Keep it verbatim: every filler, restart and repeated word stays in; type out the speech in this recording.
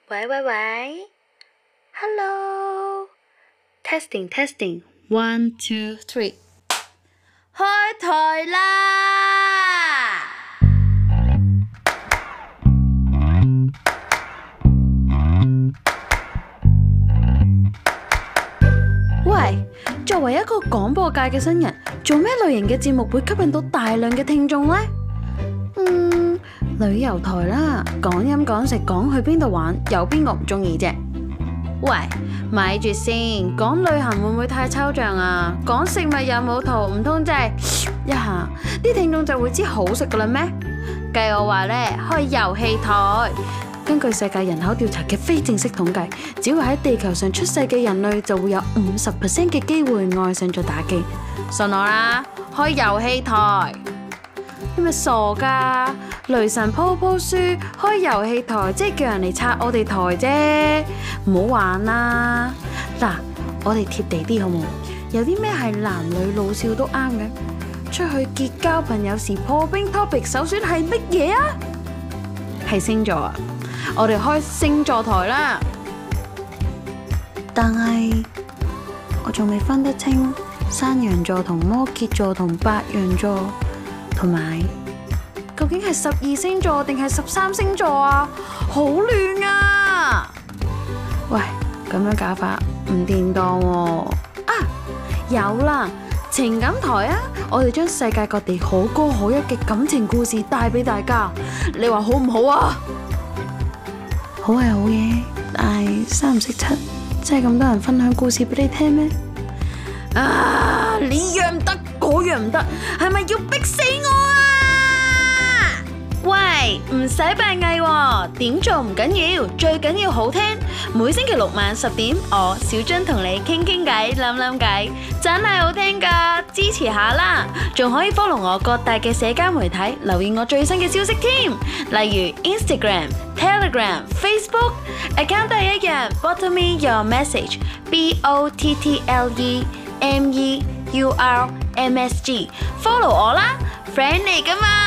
喂喂喂，Hello，testing testing，one two three，開台啦！喂，作為一個廣播界嘅新人，做咩類型嘅節目會吸引到大量嘅聽眾呢？嗯，旅遊台啦，講飲講食講去邊度玩，有邊個唔中意啫？喂，咪住先，講旅行會唔會太抽象啊？講食物有冇圖，唔通真係一下啲聽眾就會知好食噶啦咩？計我話呢，開遊戲台。根據世界人口調查嘅非正式統計，只要喺地球上出世嘅人類就會有五十 percent 嘅機會愛上咗打機。信我啦，開遊戲台。你咪傻噶？雷神鋪鋪書開遊戲台，即係叫人嚟拆我哋台啫，唔好玩啦！嗱，我哋貼地啲好冇？有啲咩係男女老少都啱嘅？出去結交朋友時破冰 topic 首選係乜嘢啊？係星座啊！我哋開星座台啦。但係我仲未分得清山羊座同摩羯座同白羊座。同埋，究竟係十二星座定係十三星座啊？好亂啊！喂，咁樣搞法唔掂當喎。啊，有啦，情感台啊！我哋將世界各地可歌可泣嘅感情故事帶俾大家，你話好唔好啊？好係好嘅，但係三唔識七，真係咁多人分享故事俾你聽咩？啊！呢樣唔得，嗰樣唔得，係咪要逼死我啊？喂，唔使扮藝喎，點做唔緊要，最緊要好聽。每星期六晚十點，我小張同你傾傾偈、諗諗計，真係好聽噶，支持下啦！仲可以 follow 我各大嘅社交媒體，留意我最新嘅消息添，例如 Instagram、Telegram、Facebook，account 都係一樣 ，bottle me your message，B O T T L E。M E U R M S G follow 我啦 ，friend 嚟噶嘛。